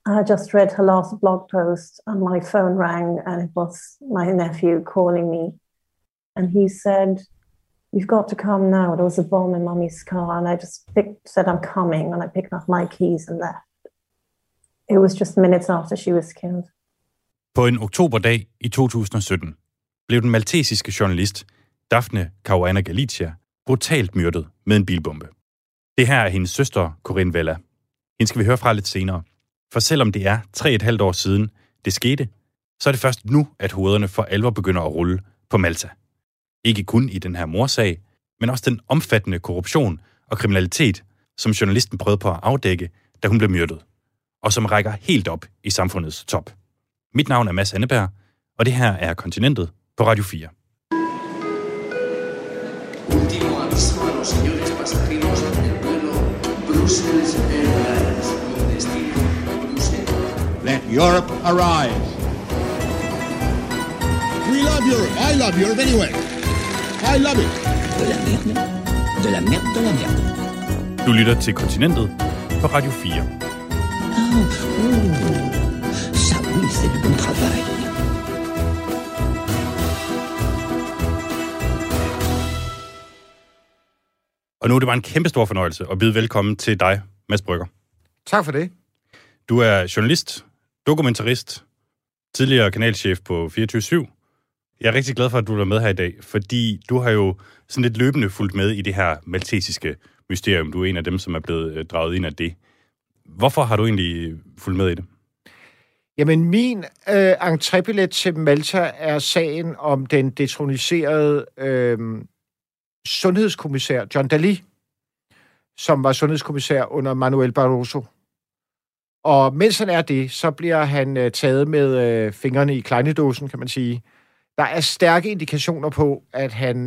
I just read her last blog post and my phone rang and it was my nephew calling me. And he said, "You've got to come now. There was a bomb in Mummy's car." And I just said, "I'm coming." And I picked up my keys and left. It was just minutes after she was killed. På en oktoberdag i 2017 blev den maltesiske journalist Daphne Caruana Galizia brutalt myrdet med en bilbombe. Det her er hendes søster, Corinne Vella. Hende skal vi høre fra lidt senere. For selvom det er 3,5 år siden det skete, så er det først nu, at hovederne for alvor begynder at rulle på Malta. Ikke kun i den her mordsag, men også den omfattende korruption og kriminalitet, som journalisten prøvede på at afdække, da hun blev myrdet, og som rækker helt op i samfundets top. Mit navn er Mads Anneberg, og det her er Kontinentet på Radio 4. Último aviso a los señores pasajeros del vuelo Brussels Airlines con destino Bruselas. Let Europe arise. We love Europe. I love Europe anyway. I love it. De la merde, de la merde, de la merde. Du lytter til Kontinentet på Radio 4. Ça oui, c'est du bon travail. Og nu er det bare en kæmpe stor fornøjelse at byde velkommen til dig, Mads Brügger. Tak for det. Du er journalist, dokumentarist, tidligere kanalchef på 24/7. Jeg er rigtig glad for, at du er med her i dag, fordi du har jo sådan lidt løbende fulgt med i det her maltesiske mysterium. Du er en af dem, som er blevet draget ind af det. Hvorfor har du egentlig fulgt med i det? Jamen, min entrébillet til Malta er sagen om den detroniserede sundhedskommissær John Dalli, som var sundhedskommissær under Manuel Barroso. Og mens han er det, så bliver han taget med fingrene i kleinedåsen, kan man sige. Der er stærke indikationer på, at han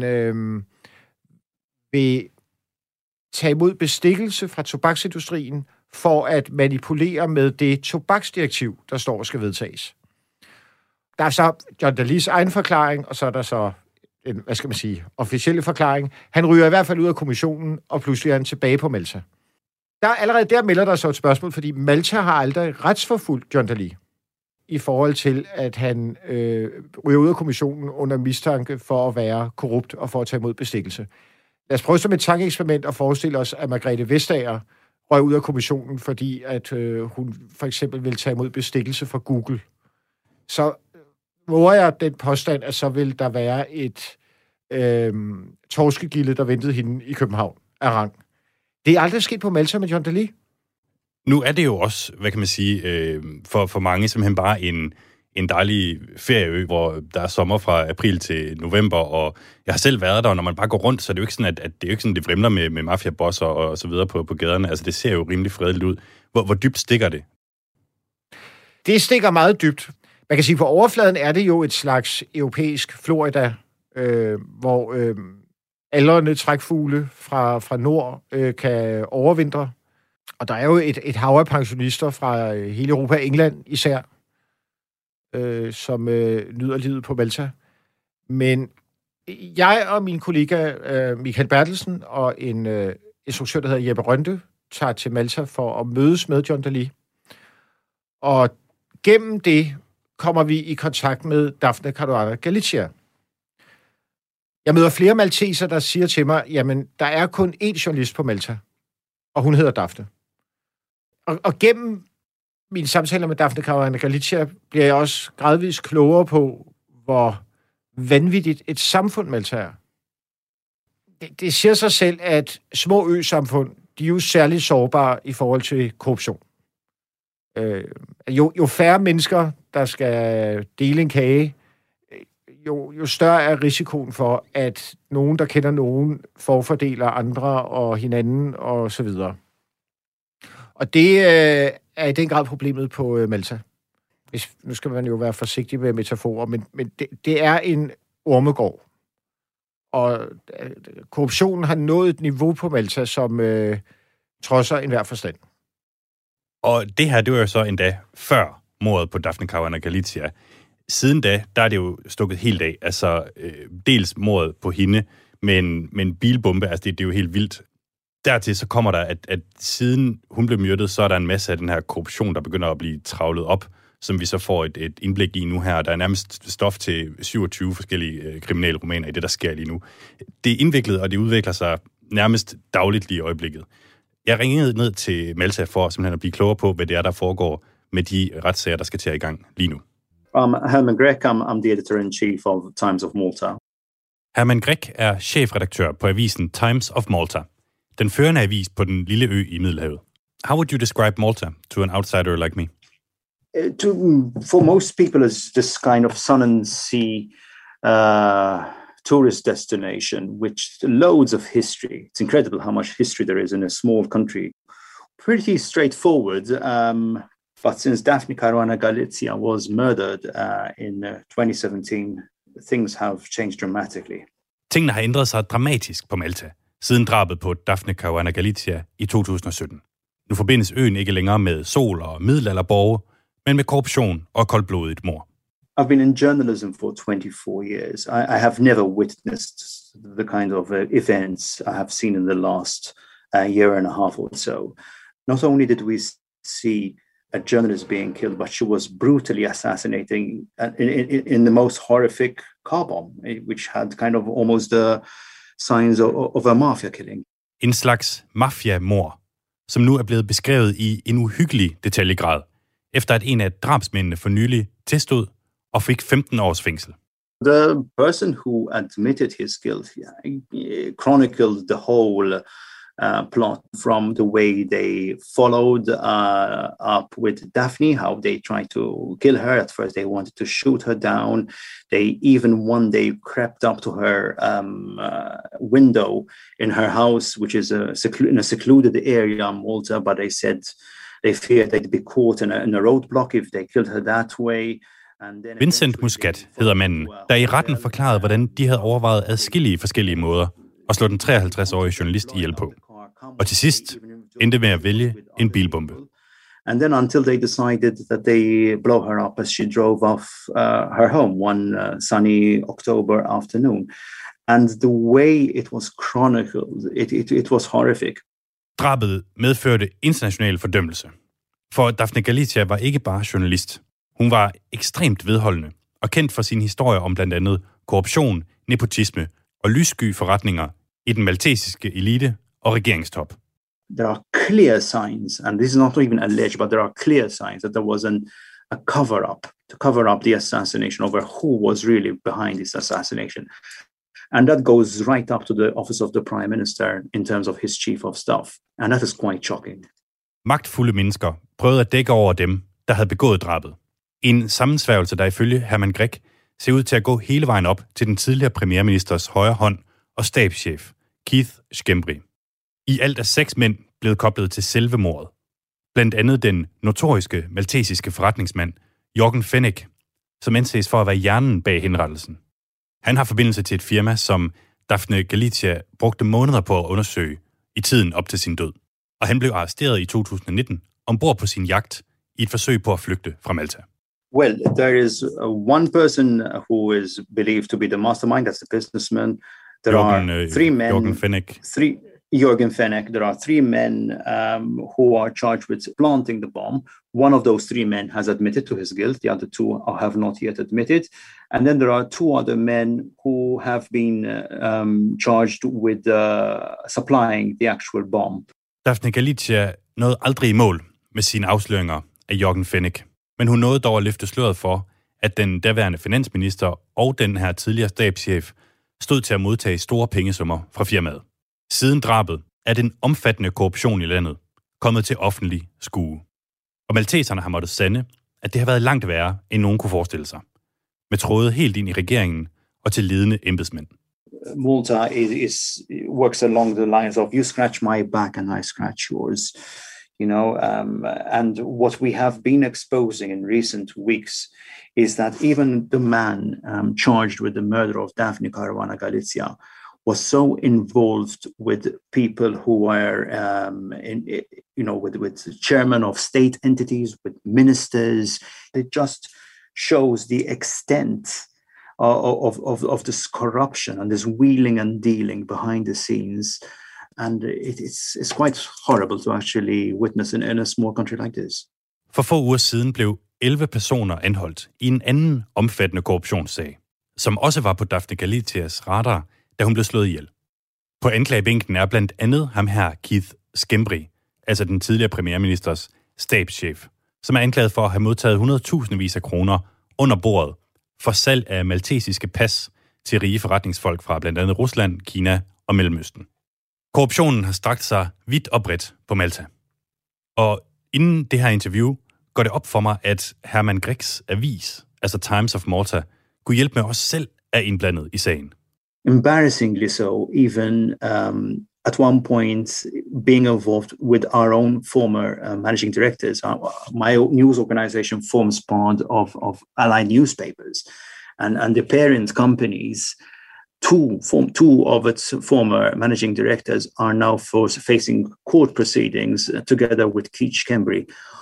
vil tage imod bestikkelse fra tobaksindustrien for at manipulere med det tobaksdirektiv, der står og skal vedtages. Der er så John Dallis egen forklaring, og så er der så en, officielle forklaring. Han ryger i hvert fald ud af kommissionen, og pludselig er han tilbage på Malta. Allerede der melder der så et spørgsmål, fordi Malta har aldrig retsforfulgt John Dalli i forhold til, at han ryger ud af kommissionen under mistanke for at være korrupt og for at tage imod bestikkelse. Lad os prøve som et tankeeksperiment at forestille os, at Margrethe Vestager røg ud af kommissionen, fordi at hun for eksempel vil tage imod bestikkelse fra Google. Så våger jeg den påstand, at så vil der være et torskegilde, der ventede hende i København af rang. Det er aldrig sket på Malta med John Dalli. Nu er det jo også, hvad kan man sige, for mange simpelthen bare en dejlig ferieø, hvor der er sommer fra april til november, og jeg har selv været der, og når man bare går rundt, så er det jo ikke sådan, at det er jo ikke sådan, det vrimler med mafiabosser og så videre på gaderne. Altså, det ser jo rimelig fredeligt ud. Hvor dybt stikker det? Det stikker meget dybt. Man kan sige, på overfladen er det jo et slags europæisk Florida, hvor aldrende trækfugle fra nord kan overvintre. Og der er jo et hav af pensionister fra hele Europa, England især, som nyder livet på Malta. Men jeg og min kollega Michael Bertelsen og en instruktør, der hedder Jeppe Rønde, tager til Malta for at mødes med John Dalli. Og gennem det kommer vi i kontakt med Daphne Caruana Galizia. Jeg møder flere malteser, der siger til mig, jamen, der er kun én journalist på Malta, og hun hedder Daphne. Og gennem mine samtaler med Daphne Caruana Galizia bliver jeg også gradvist klogere på, hvor vanvittigt et samfund Malta er. Det siger sig selv, at små øsamfund, de er jo særligt sårbare i forhold til korruption. Jo færre mennesker, der skal dele en kage, jo større er risikoen for, at nogen, der kender nogen, forfordeler andre og hinanden og så videre. Og det er i den grad problemet på Malta. Nu skal man jo være forsigtig med metaforer, men det er en ormegård. Og korruptionen har nået et niveau på Malta, som trodser enhver forstand. Og det her, det var jo så endda før mordet på Daphne Caruana Galizia. Siden da, der er det jo stukket helt af. Altså, dels mordet på hende med en bilbombe, altså det er jo helt vildt. Dertil så kommer der, at siden hun blev myrdet, så er der en masse af den her korruption, der begynder at blive travlet op, som vi så får et indblik i nu her. Der er nærmest stof til 27 forskellige kriminelle romaner i det, der sker lige nu. Det er indviklet, og det udvikler sig nærmest dagligt lige i øjeblikket. Jeg ringede ned til Malta for simpelthen at blive klogere på, hvad det er, der foregår med de retssager, der skal til i gang lige nu. Herman Grech, I'm the editor-in-chief of Times of Malta. Herman Grech er chefredaktør på avisen Times of Malta, den førende avis på den lille ø i Middelhavet. How would you describe Malta to an outsider like me? For most people, it's this kind of sun and sea tourist destination, which loads of history. It's incredible how much history there is in a small country. Pretty straightforward. But since Daphne Caruana Galizia was murdered in 2017, things have changed dramatically. Tingene har ændret sig dramatisk på Malta, siden drabet på Daphne Caruana Galizia i 2017. Nu forbindes øen ikke længere med sol og middelalderborge, men med korruption og koldblodigt mord. I've been in journalism for 24 years. I have never witnessed the kind of events I have seen in the last year and a half or so. Not only did we see a journalist being killed, but she was brutally assassinating in the most horrific car bomb, which had kind of almost the signs of a mafia killing. En slags mafia-mord, som nu er blevet beskrevet i en uhyggelig detaljegrad, efter at en af drabsmændene for nylig tilstod og fik 15 års fængsel. The person who admitted his guilt chronicled the whole plot from the way they followed up with Daphne, how they tried to kill her. At first, they wanted to shoot her down. They even one day crept up to her window in her house, which is in a secluded area in Malta, but they said they feared they'd be caught in a roadblock if they killed her that way. Vincent Muscat hedder manden, der i retten forklarede, hvordan de havde overvejet adskillige forskellige måder at slå den 53-årige journalist ihjel på. Og til sidst endte med at vælge en bilbombe. And then until they decided that they blow her up as she drove off her home one sunny October afternoon. And the way it was chronicled, it was horrific. Drabet medførte international fordømmelse. For Daphne Galizia var ikke bare journalist. Hun var ekstremt vedholdende og kendt for sine historier om blandt andet korruption, nepotisme og lyssky forretninger i den maltesiske elite og regeringstop. There are clear signs, and this is not even alleged, but there are clear signs that there was a cover-up to cover up the assassination over who was really behind this assassination. And that goes right up to the office of the Prime Minister in terms of his chief of staff. And that is quite shocking. Magtfulde mennesker prøvede at dække over dem, der havde begået drabet. En sammensværgelse, der ifølge Herman Grech ser ud til at gå hele vejen op til den tidligere premierministers højre hånd og stabschef, Keith Schembri. I alt er 6 mænd blevet koblet til selve mordet. Blandt andet den notoriske maltesiske forretningsmand, Jørgen Fenech, som anses for at være hjernen bag henrettelsen. Han har forbindelse til et firma, som Daphne Galizia brugte måneder på at undersøge i tiden op til sin død. Og han blev arresteret i 2019 ombord på sin jagt i et forsøg på at flygte fra Malta. Well, there is one person who is believed to be the mastermind, that's the businessman. There are 3 men. Jørgen Fenech. Jørgen Fenech. There are 3 men who are charged with planting the bomb. One of those 3 men has admitted to his guilt. The other 2 have not yet admitted. And then there are 2 other men who have been charged with supplying the actual bomb. Daphne Galizia nåede aldrig i mål med sine afsløringer af Jørgen Fenech. Men hun nåede dog at løfte sløret for, at den daværende finansminister og den her tidligere stabschef stod til at modtage store pengesummer fra firmaet. Siden drabet er den omfattende korruption i landet kommet til offentlig skue. Og malteserne har måttet sande, at det har været langt værre, end nogen kunne forestille sig. Med tråde helt ind i regeringen og til ledende embedsmænd. Malta works along the lines of you scratch my back and I scratch yours. And what we have been exposing in recent weeks is that even the man charged with the murder of Daphne Caruana Galizia was so involved with people who were, with chairman of state entities, with ministers. It just shows the extent of this corruption and this wheeling and dealing behind the scenes And it's quite horrible to actually witness in a small country like this. For få uger siden blev 11 personer anholdt i en anden omfattende korruptionssag, som også var på Daphne Galicias radar, da hun blev slået ihjel. På anklagebænken er blandt andet ham her Keith Schembri, altså den tidligere premierministers stabschef, som er anklaget for at have modtaget 100.000 af kroner under bordet for salg af maltesiske pas til rige forretningsfolk fra blandt andet Rusland, Kina og Mellemøsten. Korruptionen har strakt sig vidt og bredt på Malta. Og inden det her interview går det op for mig, at Herman Grecks avis, altså Times of Malta, kunne hjælpe med os selv er indblandet i sagen. Embarrassingly so, even at one point being involved with our own former managing directors. My news organization forms part of Allied newspapers, and the parent companies, two of its former managing directors are now facing court proceedings together with Keith Schembri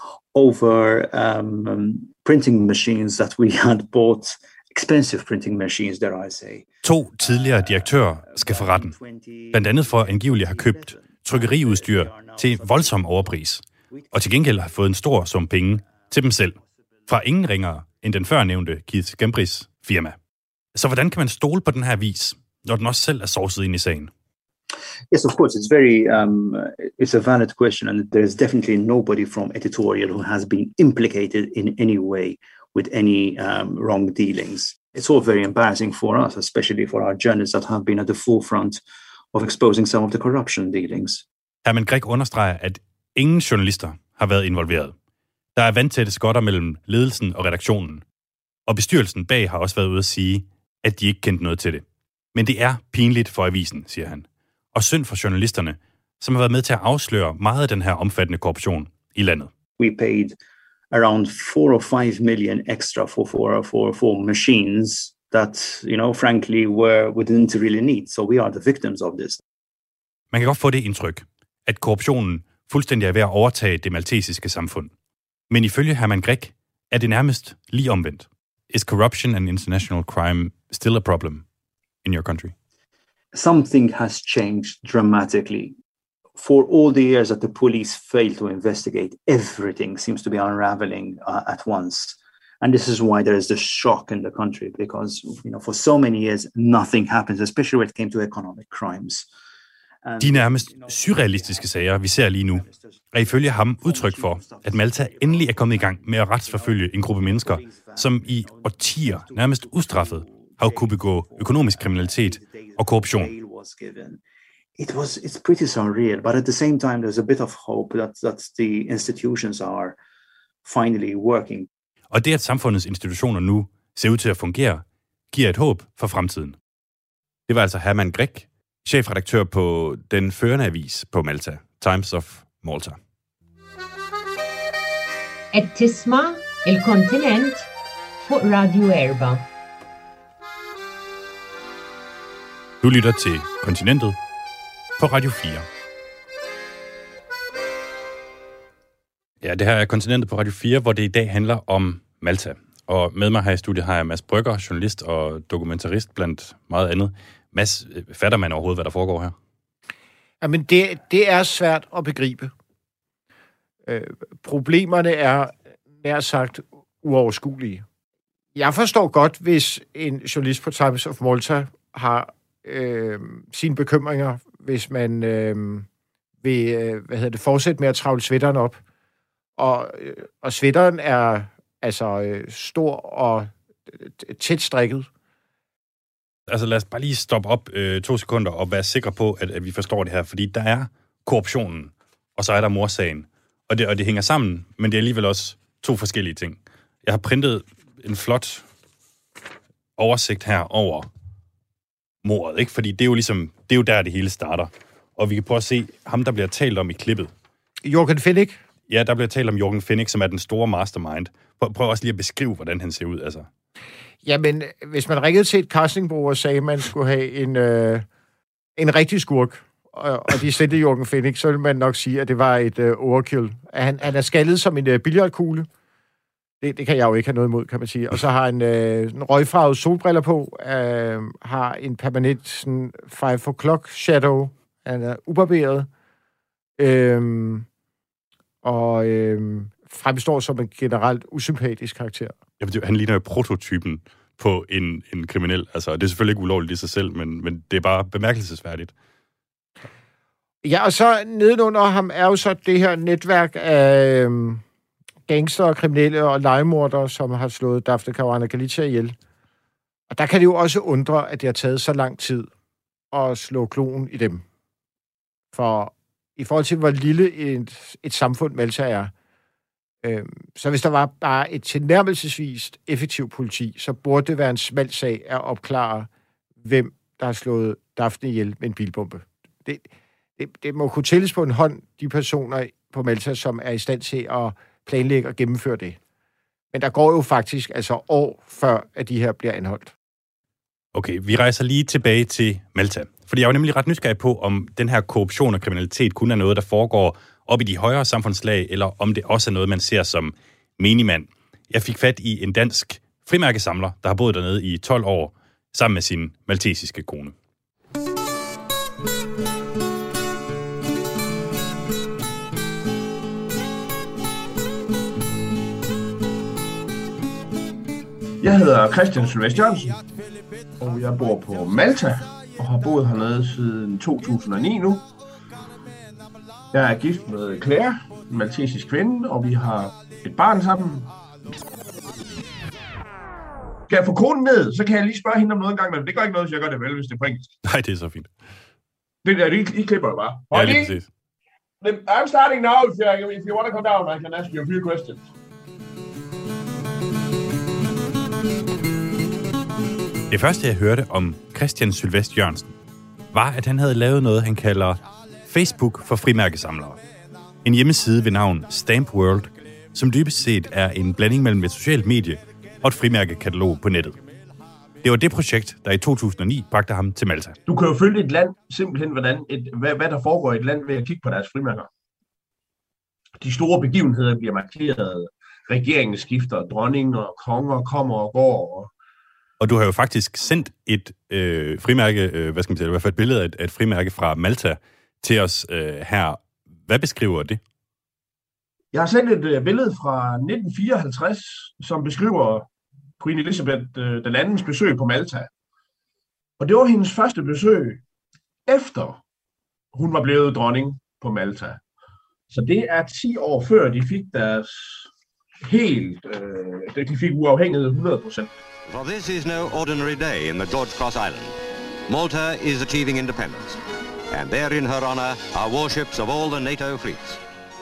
over printing machines that we had bought. Expensive printing machines, dare I say. 2 tidligere direktører skal for retten. Blandt andet for angiveligt at have købt trykkeriudstyr til voldsom overpris, og til gengæld har fået en stor sum penge til dem selv, fra ingen ringere end den førnævnte Keith Schembris firma. Så hvordan kan man stole på den her vis, når den også selv er sovset ind i sagen? Yes, of course. It's very, it's a valid question, and there's definitely nobody from editorial who has been implicated in any way with any wrong dealings. It's all very embarrassing for us, especially for our journalists that have been at the forefront of exposing some of the corruption dealings. Herman Grec understreger, at ingen journalister har været involveret. Der er vandtætte skotter mellem ledelsen og redaktionen, og bestyrelsen bag har også været ude at sige, at de ikke kendte noget til det. Men det er pinligt for avisen, siger han, og synd for journalisterne, som har været med til at afsløre meget af den her omfattende korruption i landet. We paid around 4 or 5 million extra for machines that, frankly, we didn't really need. So we are the victims of this. Man kan godt få det indtryk, at korruptionen fuldstændig er ved at overtage det maltesiske samfund. Men ifølge Herman Grec er det nærmest lige omvendt. Is corruption and international crime still a problem in your country? Something has changed dramatically. For all the years that the police failed to investigate, everything seems to be unraveling at once. And this is why there is this shock in the country, because for so many years, nothing happens, especially when it came to economic crimes. De nærmest surrealistiske sager, vi ser lige nu, er ifølge ham udtryk for, at Malta endelig er kommet i gang med at retsforfølge en gruppe mennesker, som i årtier nærmest ustraffet har kunnet begå økonomisk kriminalitet og korruption. It's pretty surreal, but at the same time, there's a bit of hope that the institutions are finally working. Og det, at samfundets institutioner nu ser ud til at fungere, giver et håb for fremtiden. Det var altså Herman Grec, chefredaktør på den førende avis på Malta, Times of Malta. التسمع الكونتيننت فوق راديو إربا. Du lytter til Kontinentet på Radio 4. Ja, det her er Kontinentet på Radio 4, hvor det i dag handler om Malta. Og med mig her i studiet har jeg Mads Brygger, journalist og dokumentarist blandt meget andet. Mads, fatter man overhovedet, hvad der foregår her? Jamen, det er svært at begribe. Problemerne er nær sagt uoverskuelige. Jeg forstår godt, hvis en journalist på Times of Malta har sine bekymringer, hvis man vil fortsætte med at travle sweateren op. Og sweateren er altså stor og tæt strikket. Altså lad os bare lige stoppe op 2 sekunder og være sikre på, at vi forstår det her. Fordi der er korruptionen, og så er der morsagen. Og det hænger sammen, men det er alligevel også 2 forskellige ting. Jeg har printet en flot oversigt her over mordet, ikke? Fordi det er jo ligesom, det er jo der, det hele starter. Og vi kan prøve at se ham, der bliver talt om i klippet. Jørgen Fennick? Ja, der bliver talt om Jørgen Fennick, som er den store mastermind. Prøv også lige at beskrive, hvordan han ser ud, altså. Jamen, hvis man ringede til et castingbureau og sagde, at man skulle have en rigtig skurk, og de sendte Jørgen Fennick, så ville man nok sige, at det var et overkill. Han er skaldet som en billiardkugle. Det kan jeg jo ikke have noget imod, kan man sige. Og så har han en røgfarvet solbriller på, har en permanent sådan 5 o'clock shadow. Han er ubarberet. Og fremstår som en generelt usympatisk karakter. Jamen, han ligner jo prototypen på en kriminel. Altså, det er selvfølgelig ikke ulovligt i sig selv, men det er bare bemærkelsesværdigt. Ja, og så nedenunder ham er jo så det her netværk af gangster, kriminelle og legemordere, som har slået Daphne Caruana Galizia ihjel. Og der kan det jo også undre, at det har taget så lang tid at slå kloen i dem. For i forhold til, hvor lille et samfund Malta er, så hvis der var bare et tilnærmelsesvist effektivt politi, så burde det være en smal sag at opklare, hvem der har slået Daphne ihjel med en bilbombe. Det må kunne tælles på en hånd, de personer på Malta, som er i stand til at planlægge og gennemføre det. Men der går jo faktisk altså år før, at de her bliver anholdt. Okay, vi rejser lige tilbage til Malta. Fordi jeg er jo nemlig ret nysgerrig på, om den her korruption og kriminalitet kun er noget, der foregår op i de højere samfundslag, eller om det også er noget, man ser som menigmand. Jeg fik fat i en dansk frimærkesamler, der har boet dernede i 12 år, sammen med sin maltesiske kone. Jeg hedder Christian Sylvest Jørgensen, og jeg bor på Malta og har boet hernede siden 2009 nu. Jeg er gift med Claire, en maltesisk kvinde, og vi har et barn sammen. Skal jeg få konen ned, så kan jeg lige spørge hende om noget en gang, men det gør ikke noget, hvis jeg gør det vel, hvis det er på engelsk. Nej, det er så fint. Det der, I klipper jo bare. Ja, lige præcis. I'm starting now, if you want to come down, I can ask you a few questions. Det første, jeg hørte om Christian Sylvest Jørgensen, var, at han havde lavet noget, han kalder Facebook for frimærkesamlere. En hjemmeside ved navn Stamp World, som dybest set er en blanding mellem et socialt medie og et frimærkekatalog på nettet. Det var det projekt, der i 2009 bragte ham til Malta. Du kan jo følge et land simpelthen, hvad der foregår i et land ved at kigge på deres frimærker. De store begivenheder bliver markeret. Regeringen skifter, dronninger, konger kommer og går. Og du har jo faktisk sendt et frimærke, i hvert fald et billede af et frimærke fra Malta til os her. Hvad beskriver det? Jeg har sendt et billede fra 1954, som beskriver Queen Elizabeth den andens besøg på Malta. Og det var hendes første besøg, efter hun var blevet dronning på Malta. Så det er 10 år før de fik deres de fik uafhængighed 100%. For this is no ordinary day in the George Cross Island. Malta is achieving independence, and there in her honor are warships of all the NATO fleets.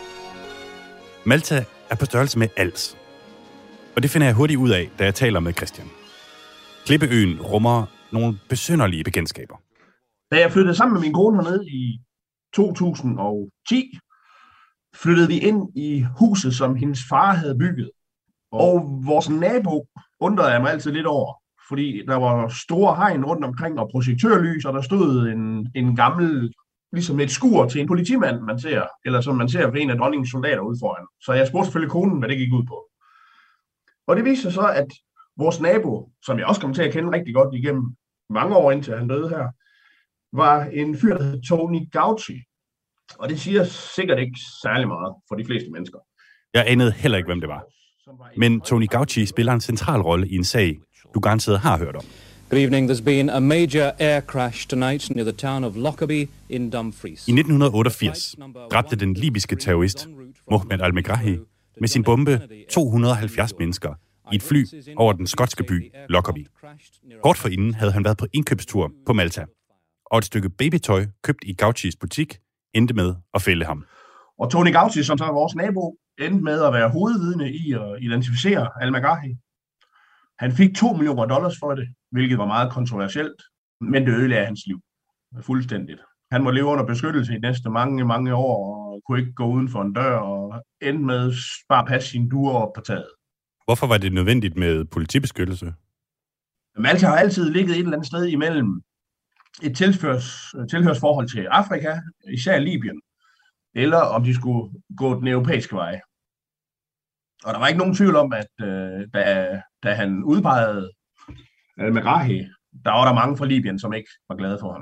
Malta er på størrelse med Als. Og det finder jeg hurtigt ud af, da jeg taler med Christian. Klippeøen rummer nogle besynderlige bekendtskaber. Da jeg flyttede sammen med min kone hernede i 2010, flyttede vi ind i huset, som hendes far havde bygget. Og vores nabo undrede jeg mig altid lidt over, fordi der var store hegn rundt omkring og projektørlys, og der stod en gammel, ligesom et skur til en politimand, man ser, eller som man ser ved en af dronningens soldater ude foran. Så jeg spurgte selvfølgelig konen, hvad det gik ud på. Og det viste sig så, at vores nabo, som jeg også kom til at kende rigtig godt igennem mange år indtil han døde her, var en fyr, der hed Tony Gauci. Og det siger sikkert ikke særlig meget for de fleste mennesker. Jeg anede heller ikke, hvem det var. Men Tony Gauci spiller en central rolle i en sag, du garanteret har hørt om. Good evening. There's been a major air crash tonight near the town of Lockerbie in Dumfries. I 1988 dræbte den libyske terrorist Mohamed Al-Megrahi med sin bombe 270 mennesker i et fly over den skotske by Lockerbie. Kort forinden havde han været på indkøbstur på Malta, og et stykke babytøj købt i Gaucis butik endte med at fælde ham. Og Tony Gauci, som så er vores nabo, endte med at være hovedvidne i at identificere Al-Megrahi. Han fik $2 millioner for det, hvilket var meget kontroversielt, men det ødelagde hans liv fuldstændigt. Han må leve under beskyttelse i næste mange år, og kunne ikke gå uden for en dør, og endte med bare passe sine duer op på taget. Hvorfor var det nødvendigt med politibeskyttelse? Malta har altid ligget et eller andet sted imellem et tilhørsforhold til Afrika, især Libyen, eller om de skulle gå den europæiske vej. Og der var ikke nogen tvivl om, at da han udpegede Al-Megrahi, der var der mange fra Libyen, som ikke var glade for ham.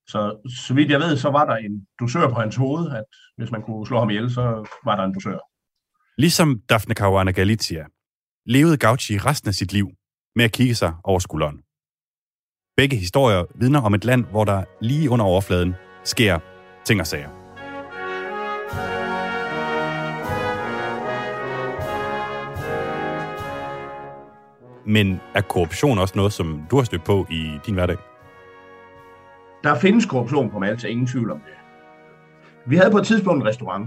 Så vidt jeg ved, så var der en dusør på hans hoved, at hvis man kunne slå ham ihjel, så var der en dusør. Ligesom Daphne Caruana Galizia levede Gauci resten af sit liv med at kigge sig over skulderen. Begge historier vidner om et land, hvor der lige under overfladen sker ting og sager. Men er korruption også noget, som du har stødt på i din hverdag? Der findes korruption på Malta, ingen tvivl om det. Vi havde på et tidspunkt en restaurant,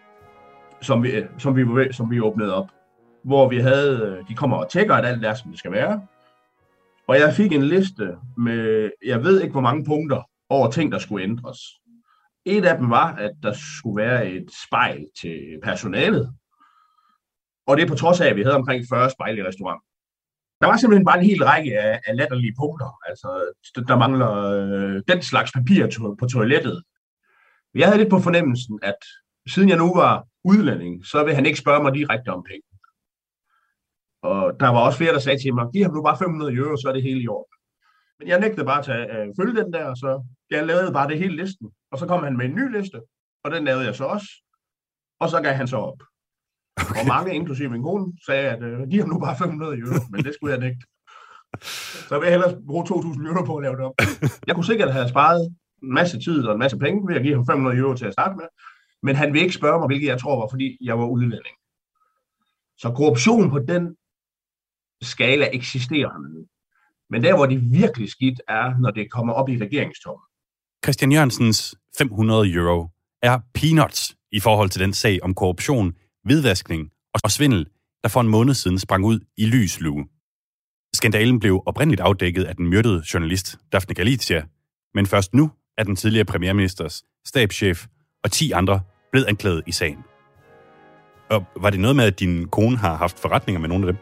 som vi åbnede op, hvor vi havde, de kommer og tjekker, at alt er, som det skal være. Og jeg fik en liste med, jeg ved ikke hvor mange punkter, over ting, der skulle ændres. Et af dem var, at der skulle være et spejl til personalet. Og det er på trods af, at vi havde omkring 40 spejl i restauranten. Der var simpelthen bare en hel række af latterlige punkter. Altså, der mangler den slags papir på toilettet. Jeg havde lidt på fornemmelsen, at siden jeg nu var udlænding, så vil han ikke spørge mig direkte om penge. Og der var også flere, der sagde til mig, giv ham nu bare 500 euro, så er det hele i orden. Men jeg nægtede bare at følge den der, så jeg lavede bare det hele listen. Og så kom han med en ny liste, og den lavede jeg så også. Og så gav han så op. Okay. Og mange, inklusive min kone, sagde, at giv ham nu bare 500 euro, men det skulle jeg nægte. Så vil jeg hellere bruge 2.000 euro på at lave det op. Jeg kunne sikkert have sparet en masse tid og en masse penge ved at give ham 500 euro til at starte med, men han vil ikke spørge mig, hvilket jeg tror var, fordi jeg var udlænding. Så korruption på den skala eksisterer. Men der, hvor det virkelig skidt er, når det kommer op i regeringstoppen. Christian Jørgensens 500 euro er peanuts i forhold til den sag om korruption, hvidvaskning og svindel, der for en måned siden sprang ud i lys lue. Skandalen blev oprindeligt afdækket af den myrdede journalist Daphne Galizia, men først nu er den tidligere premierministers stabschef og 10 andre blevet anklaget i sagen. Og var det noget med, at din kone har haft forretninger med nogle af dem?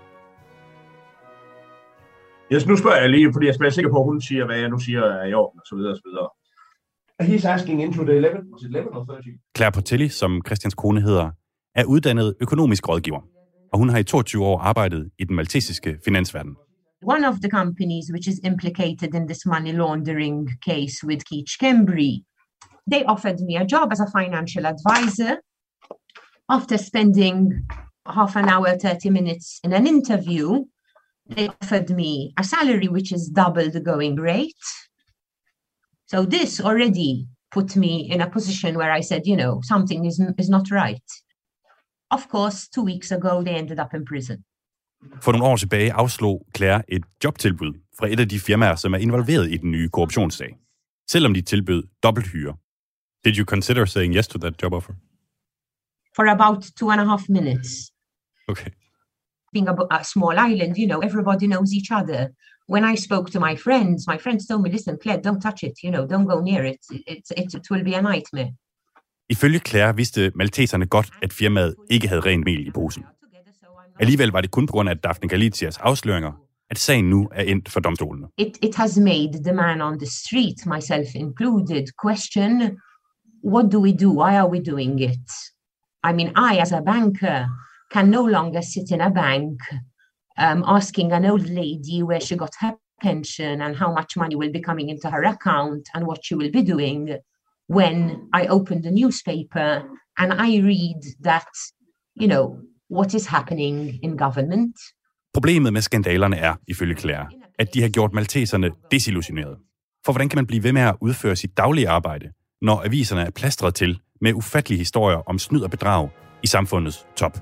Nu spørger jeg lige, fordi jeg er sikker på, at hun siger, hvad jeg nu siger er i orden, og så videre, og så videre. He's asking into the 11, was it 11 or 13? Claire Portelli, som Christians kone hedder, er uddannet økonomisk rådgiver, og hun har i 22 år arbejdet i den maltesiske finansverden. One of the companies which is implicated in this money laundering case with Keach Kembry, they offered me a job as a financial advisor. After spending half an hour, 30 minutes in an interview, they offered me a salary which is double the going rate. So this already put me in a position where I said, something is not right. Of course, 2 weeks ago, they ended up in prison. For nogle år tilbage afslog Claire et jobtilbud fra et af de firmaer, som er involveret i den nye korruptionssag, selvom de tilbød dobbelthyre. Did you consider saying yes to that job offer? For about 2.5 minutes. Okay. Being a small island, everybody knows each other. When I spoke to my friends told me, listen, Claire, don't touch it, don't go near it. It will be a nightmare. Ifølge Claire vidste malteserne godt, at firmaet ikke havde rent mel i posen. Alligevel var det kun på grund af Daphne Galizias afsløringer, at sagen nu er endt for domstolene. It has made the man on the street, myself included, question, what do we do? Why are we doing it? I mean, I, as a banker, can no longer sit in a bank asking an old lady where she got her pension and how much money will be coming into her account and what she will be doing when I open the newspaper and I read that, what is happening in government. Problemet med skandalerne er, ifølge Claire, at de har gjort malteserne desillusionerede. For hvordan kan man blive ved med at udføre sit daglige arbejde, når aviserne er plastret til med ufattelige historier om snyd og bedrag i samfundets top?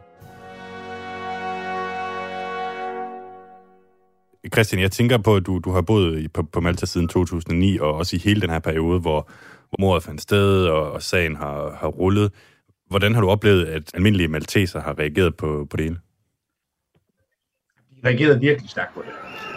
Christian, jeg tænker på, at du har boet på Malta siden 2009, og også i hele den her periode, hvor mordet fandt sted, og sagen har rullet. Hvordan har du oplevet, at almindelige malteser har reageret på det hele? De reagerede virkelig stærkt på det.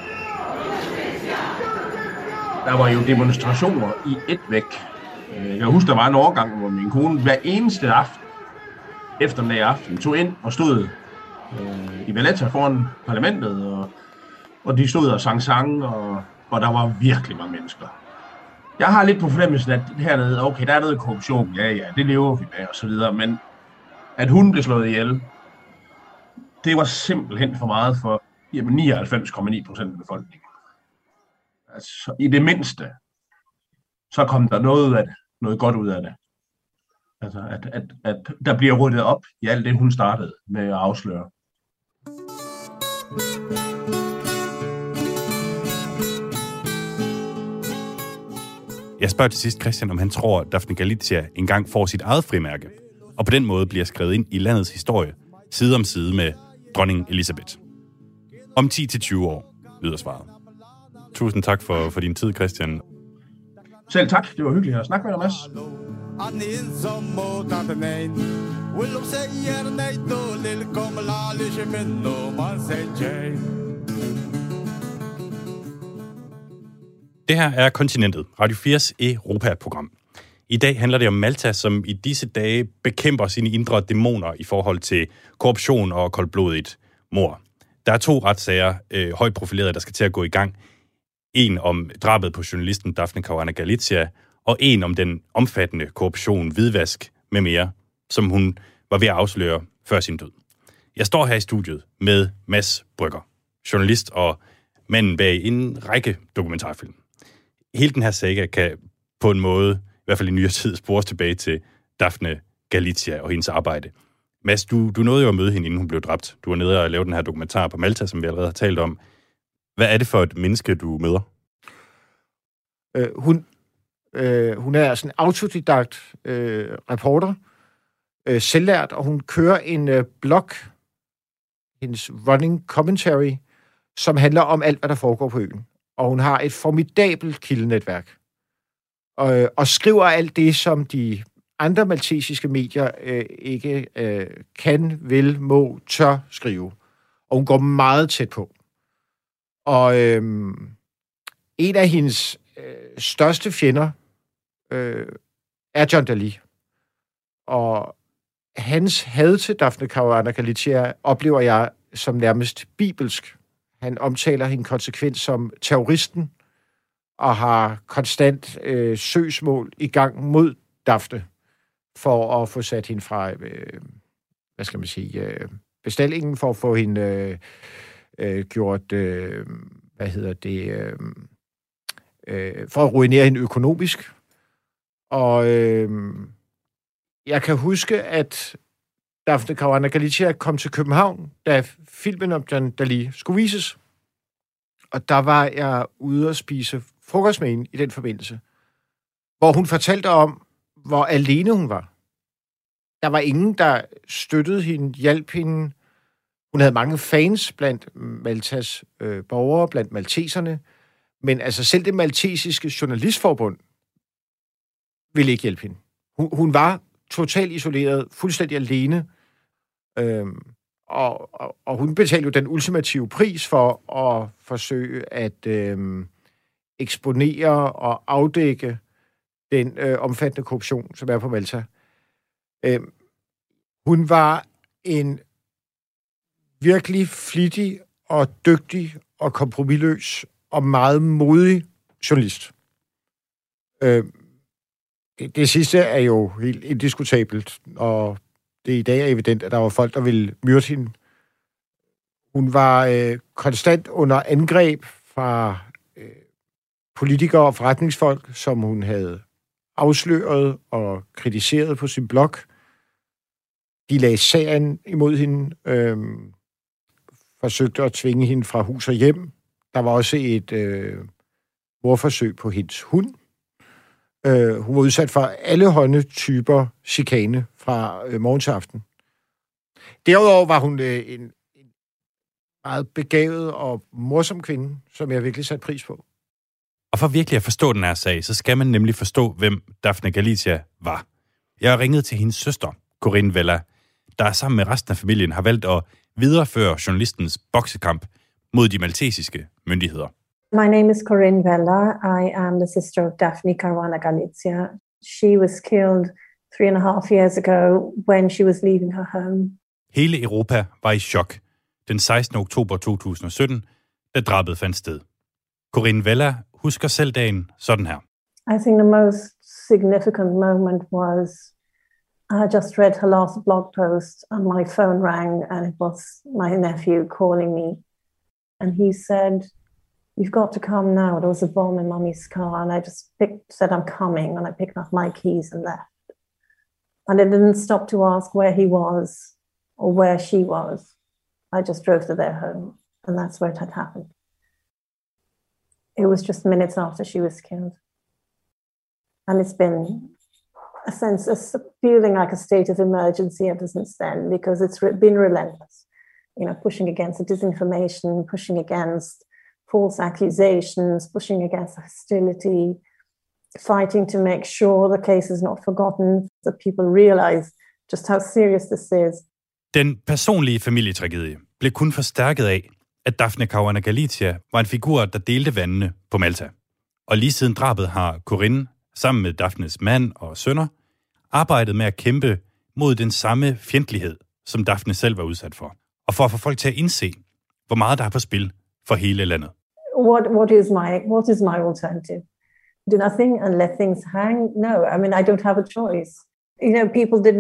Der var jo demonstrationer i et væk. Jeg kan huske, der var en overgang, hvor min kone hver eneste aften, eftermiddag aften, tog ind og stod i Valletta foran parlamentet, og de stod og sang sange, og der var virkelig mange mennesker. Jeg har lidt på fornemmelsen, at hernede, okay, der er noget korruption, ja, det lever vi med, og så videre, men at hun blev slået ihjel, det var simpelthen for meget for 99,9% af befolkningen. Altså, i det mindste, så kom der noget godt ud af det. Altså, at der bliver ryddet op i alt det, hun startede med at afsløre. Jeg spørger til sidst Christian, om han tror, at Daphne Galizia engang får sit eget frimærke, og på den måde bliver skrevet ind i landets historie, side om side med dronning Elizabeth. Om 10-20 år, lyder svaret. Tusind tak for din tid, Christian. Selv tak. Det var hyggeligt at snakke med dig, Mads. Det her er Kontinentet, Radio 4's Europa-program. I dag handler det om Malta, som i disse dage bekæmper sine indre dæmoner i forhold til korruption og koldblodigt mord. Der er 2 retssager, højt profilerede, der skal til at gå i gang. En om drabet på journalisten Daphne Caruana Galizia, og en om den omfattende korruption, hvidvask med mere, som hun var ved at afsløre før sin død. Jeg står her i studiet med Mads Brügger, journalist og manden bag en række dokumentarfilm. Hele den her saga kan på en måde, i hvert fald i nyere tid, spores tilbage til Daphne Galizia og hendes arbejde. Mads, du nåede jo at møde hende, inden hun blev dræbt. Du var nede og lavede den her dokumentar på Malta, som vi allerede har talt om. Hvad er det for et menneske, du møder? Hun er sådan en autodidakt reporter, selvlært, og hun kører en blog, hendes running commentary, som handler om alt, hvad der foregår på øen. Og hun har et formidabelt kildenetværk. Og skriver alt det, som de andre maltesiske medier ikke kan, vil, må, tør skrive. Og hun går meget tæt på. Og en af hendes største fjender er John Dalli. Og hans had til Daphne Caruana Galizia oplever jeg som nærmest bibelsk. Han omtaler hende konsekvent som terroristen, og har konstant søgsmål i gang mod Daphne, for at få sat hende fra, bestillingen, for at få hende gjort, for at ruinere hende økonomisk. Og jeg kan huske, at Daphne Caruana Galizia kom til København, da filmen om John Dalli skulle vises. Og der var jeg ude at spise frokost med hende i den forbindelse, hvor hun fortalte om, hvor alene hun var. Der var ingen, der støttede hende, hjalp hende. Hun havde mange fans blandt Maltas borgere, blandt malteserne, men altså selv det maltesiske journalistforbund ville ikke hjælpe hende. Hun var totalt isoleret, fuldstændig alene, og hun betalte jo den ultimative pris for at forsøge at eksponere og afdække den omfattende korruption, som er på Malta. Hun var en virkelig flittig og dygtig og kompromisløs og meget modig journalist. Det sidste er jo helt indiskutabelt, og det i dag er evident, at der var folk, der ville myrde hende. Hun var konstant under angreb fra politikere og forretningsfolk, som hun havde afsløret og kritiseret på sin blog. De lagde sagen imod hende, forsøgte at tvinge hende fra hus og hjem. Der var også et mordforsøg på hendes hund. Hun var udsat for alle typer chikane fra morgen til aften. Derudover var hun en meget begavet og morsom kvinde, som jeg virkelig satte pris på. Og for virkelig at forstå den her sag, så skal man nemlig forstå, hvem Daphne Galizia var. Jeg har ringet til hendes søster, Corinne Vella, der sammen med resten af familien har valgt at videreføre journalistens boksekamp mod de maltesiske myndigheder. My name is Corinne Vella. I am the sister of Daphne Caruana Galizia. She was killed 3.5 years ago when she was leaving her home. Hele Europa var i chok den 16. oktober 2017, da drabet fandt sted. Corinne Vella husker selv dagen sådan her. I think the most significant moment was I had just read her last blog post and my phone rang and it was my nephew calling me. And he said, you've got to come now. There was a bomb in Mummy's car, and I just said, I'm coming, and I picked up my keys and left. And I didn't stop to ask where he was or where she was. I just drove to their home, and that's where it had happened. It was just minutes after she was killed. And it's been a feeling like a state of emergency ever since then, because it's been relentless. Pushing against the disinformation, pushing against false accusations, pushing against hostility, fighting to make sure the case is not forgotten, that people realize just how serious this is. Den personlige familietragedie blev kun forstærket af, at Daphne Caruana Galizia var en figur, der delte vandene på Malta. Og lige siden drabet har Corinne, sammen med Daphnes mand og sønner, arbejdet med at kæmpe mod den samme fjendtlighed, som Daphne selv var udsat for. Og for at få folk til at indse, hvor meget der er på spil for hele landet. What is my alternative? Do nothing and let things hang? No, I mean, I don't have a choice. Some people did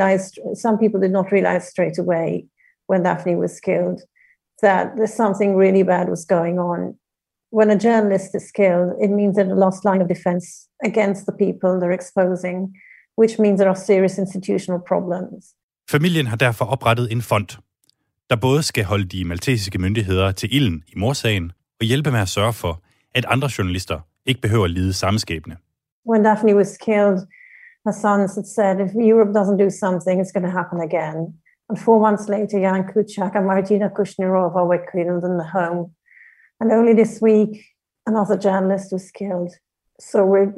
not realize straight away when Daphne was killed that there's something really bad was going on. When a journalist is killed, it means that a lost line of defense against the people they're exposing, which means there are serious institutional problems. Familien har derfor oprettet en fond, der både skal holde de maltesiske myndigheder til ilden i mordsagen og hjælpe med at sørge for, at andre journalister ikke behøver at lide samme skæbne. When Daphne was killed, her sons had said, if Europe doesn't do something, it's going to happen again. And 4 months later, Jan Kuciak and Martina Kushnirova were killed in the home. And only this week, another journalist was killed. So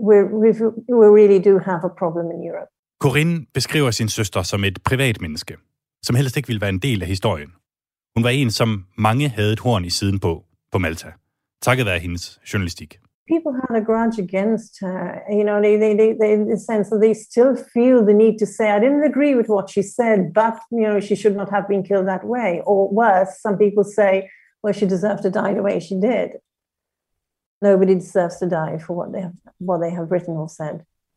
we really do have a problem in Europe. Corinne beskriver sin søster som et privat menneske, som helst ikke ville være en del af historien. Hun var en, som mange havde et horn i siden på Malta, takket være hendes journalistik. People had a grudge against her, they in the sense that they still feel the need to say, I didn't agree with what she said, but, she should not have been killed that way. Or worse, some people say, well, she deserved to die the way she did. Nobody deserves to die for what they have written or said.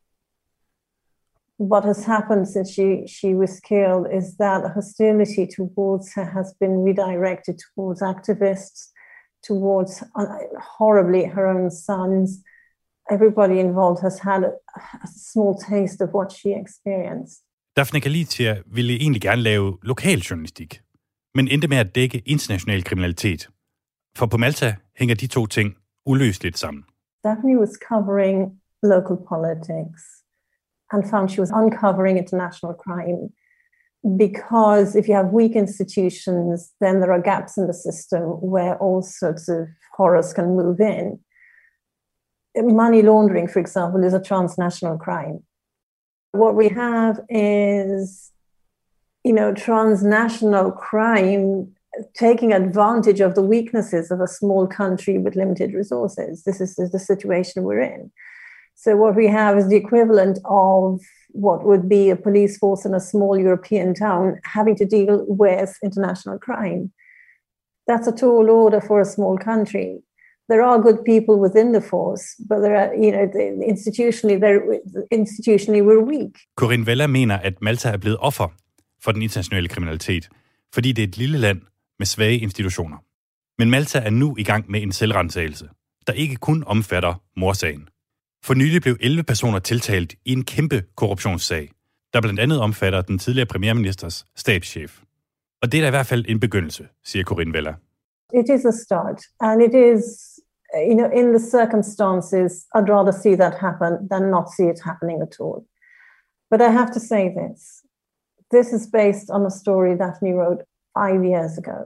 What has happened since she was killed is that the hostility towards her has been redirected towards activists, towards horribly her own sons. Everybody involved has had a small taste of what she experienced. Daphne Galizia ville egentlig gerne lave lokaljournalistik, men endte med at dække international kriminalitet. For på Malta hænger de to ting uløseligt sammen. Daphne was covering local politics and found she was uncovering international crime. Because if you have weak institutions, then there are gaps in the system where all sorts of horrors can move in. Money laundering, for example, is a transnational crime. What we have is, transnational crime taking advantage of the weaknesses of a small country with limited resources. This is the situation we're in. So what we have is the equivalent of what would be a police force in a small European town having to deal with international crime. That's a tall order for a small country. There are good people within the force, but there are, institutionally we're weak. Corinne Vella mener, at Malta er blevet offer for den internationale kriminalitet, fordi det er et lille land med svage institutioner. Men Malta er nu i gang med en selvrensagelse, der ikke kun omfatter mordsagen. For nylig blev 11 personer tiltalt i en kæmpe korruptionssag, der blandt andet omfatter den tidligere premierministers stabschef. Og det er da i hvert fald en begyndelse, siger Corinne Vella. It is a start, and it is, in the circumstances, I'd rather see that happen than not see it happening at all. But I have to say this. This is based on a story Daphne wrote 5 years ago.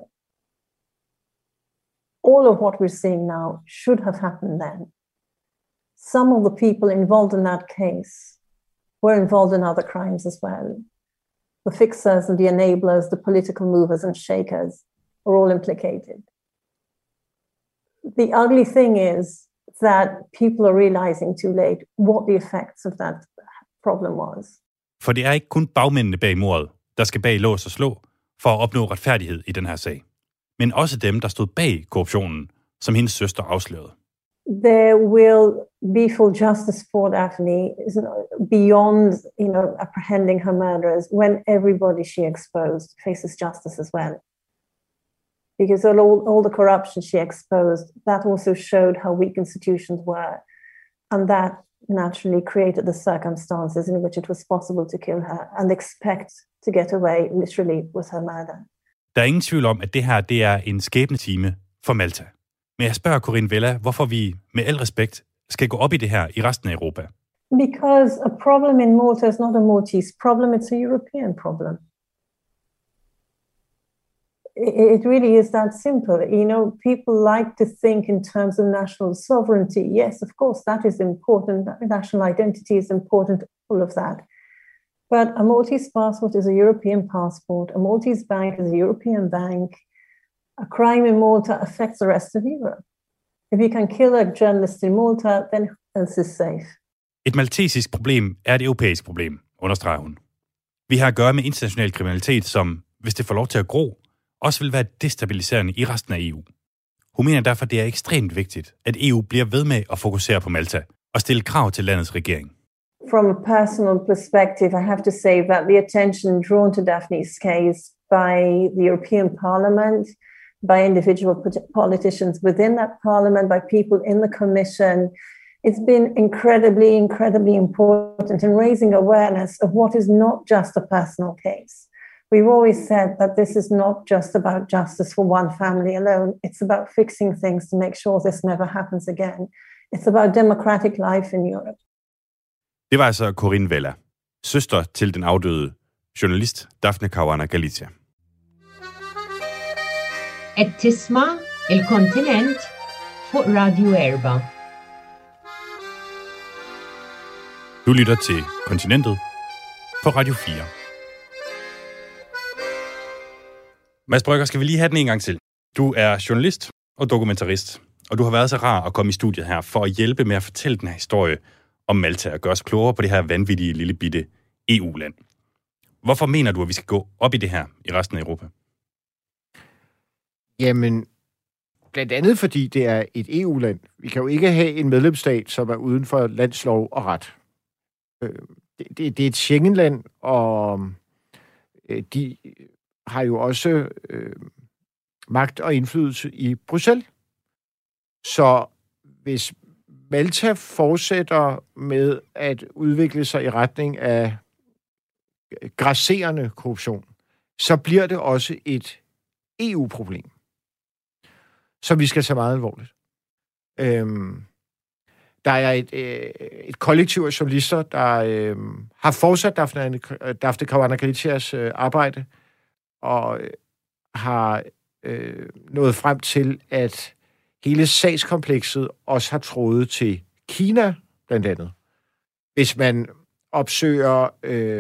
All of what we're seeing now should have happened then. Some of the people involved in that case were involved in other crimes as well. The fixers and the enablers, the political movers and shakers are all implicated. The ugly thing is that people are realizing too late what the effects of that problem was. For det er ikke kun bagmændene bag mordet, der skal bag lås og slå for at opnå retfærdighed i den her sag. Men også dem, der stod bag korruptionen, som hendes søster afslørede. There will be full justice for Daphne beyond, apprehending her murderers when everybody she exposed faces justice as well. because all the corruption she exposed, that also showed how weak institutions were. And that naturally created the circumstances in which it was possible to kill her and expect to get away literally with her murder. Der er ingen tvivl om, at det her det er en skæbnetime for Malta. Men jeg spørger Corinne Vella, hvorfor vi med al respekt skal gå op i det her i resten af Europa. Because a problem in Malta is not a Maltese problem, it's a European problem. It really is that simple. You know, people like to think in terms of national sovereignty. Yes, of course, that is important. National identity is important, all of that. But a Maltese passport is a European passport. A Maltese bank is a European bank. A crime in Malta affects the rest of Europe. If you can kill a journalist in Malta, then else is safe. Et maltesisk problem er et europæisk problem, understreger hun. Vi har at gøre med international kriminalitet, som, hvis det får lov til at gro, også vil være destabiliserende i resten af EU. Hun mener derfor, det er ekstremt vigtigt, at EU bliver ved med at fokusere på Malta og stille krav til landets regering. From a personal perspective, I have to say that the attention drawn to Daphne's case by the European Parliament, by individual politicians within that parliament, by people in the Commission, it's been incredibly important in raising awareness of what is not just a personal case. We've always said that this is not just about justice for one family alone. It's about fixing things to make sure this never happens again. It's about democratic life in Europe. Det var altså Corinne Vella, søster til den afdøde journalist Daphne Caruana Galizia. قد تسمع الكونتيننت فوق راديو إربا. Du lytter til Kontinentet på Radio 4. Mads Brygger, skal vi lige have den en gang til? Du er journalist og dokumentarist, og du har været så rar at komme i studiet her for at hjælpe med at fortælle den her historie om Malta og gøre os klogere på det her vanvittige lille bitte EU-land. Hvorfor mener du, at vi skal gå op i det her i resten af Europa? Jamen, blandt andet fordi det er et EU-land. Vi kan jo ikke have en medlemsstat, som er uden for landslov og ret. Det er et Schengen-land, og de har jo også magt og indflydelse i Bruxelles. Så hvis Malta fortsætter med at udvikle sig i retning af grasserende korruption, så bliver det også et EU-problem, som vi skal tage meget alvorligt. Der er et kollektiv af journalister, der har fortsat Daphne Caruana Galizias arbejde, og har nået frem til, at hele sagskomplekset også har trådet til Kina, blandt andet. Hvis man opsøger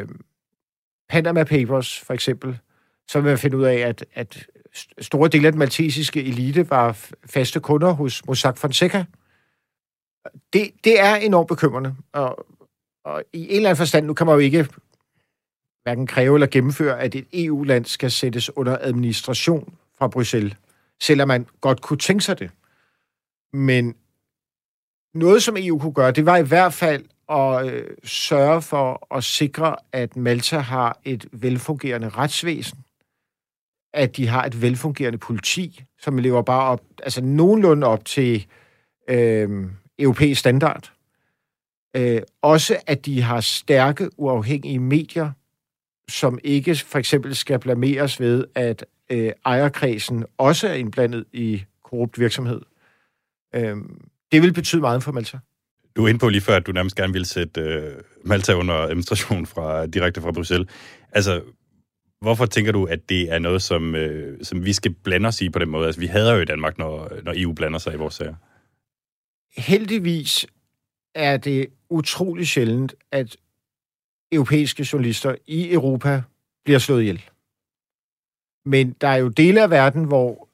Panama Papers, for eksempel, så vil man finde ud af, at store dele af den maltesiske elite var faste kunder hos Mossack Fonseca. Det er enormt bekymrende, og i en eller anden forstand, nu kan man jo ikke hverken kræve eller gennemføre, at et EU-land skal sættes under administration fra Bruxelles, selvom man godt kunne tænke sig det. Men noget, som EU kunne gøre, det var i hvert fald at sørge for at sikre, at Malta har et velfungerende retsvæsen, at de har et velfungerende politi, som lever bare op, altså nogenlunde op til europæisk standard. Også at de har stærke, uafhængige medier, som ikke for eksempel skal blameres ved, at ejerkredsen også er indblandet i korrupt virksomhed. Det vil betyde meget for Malta. Du er inde på lige før, at du nærmest gerne ville sætte Malta under administration direkte fra Bruxelles. Altså, hvorfor tænker du, at det er noget, som vi skal blande os i på den måde? Altså, vi hader jo i Danmark, når EU blander sig i vores sager. Heldigvis er det utrolig sjældent, at europæiske journalister i Europa bliver slået ihjel. Men der er jo dele af verden, hvor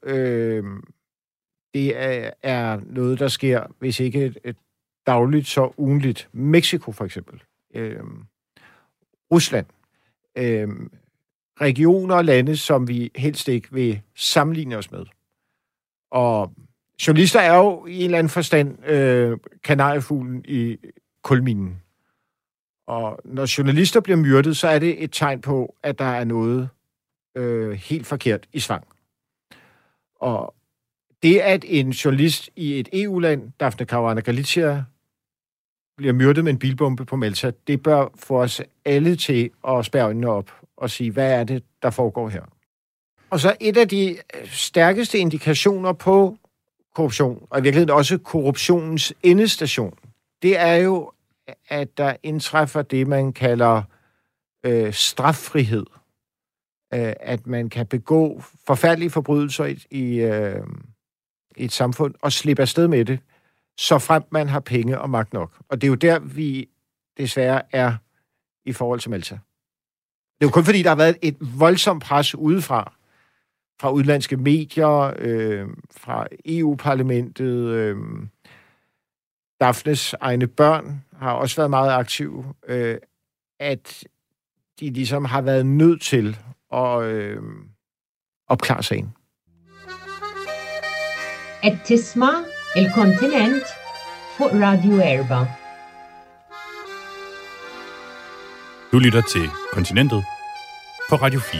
det er noget, der sker, hvis ikke et dagligt, så ugenligt. Mexico for eksempel. Rusland. Regioner og lande, som vi helst ikke vil sammenligne os med. Og journalister er jo i en eller anden forstand kanariefuglen i kulminen. Og når journalister bliver myrdet, så er det et tegn på, at der er noget helt forkert i svang. Og det, at en journalist i et EU-land, Daphne Caruana Galizia, bliver myrdet med en bilbombe på Malta, det bør få os alle til at spærre øjnene op og sige, hvad er det, der foregår her? Og så et af de stærkeste indikationer på korruption, og i virkeligheden også korruptionens endestation, det er jo, at der indtræffer det, man kalder straffrihed. At man kan begå forfærdelige forbrydelser i et samfund og slippe afsted med det, så frem man har penge og magt nok. Og det er jo der, vi desværre er i forhold til Malta. Det er jo kun fordi, der har været et voldsomt pres udefra, fra udenlandske medier, fra EU-parlamentet. Daphnes egne børn har også været meget aktive, at de ligesom har været nødt til at opklare sagen. Et تسمع الكونتيننت فوق راديو إربا. Du lytter til Kontinentet på Radio 4.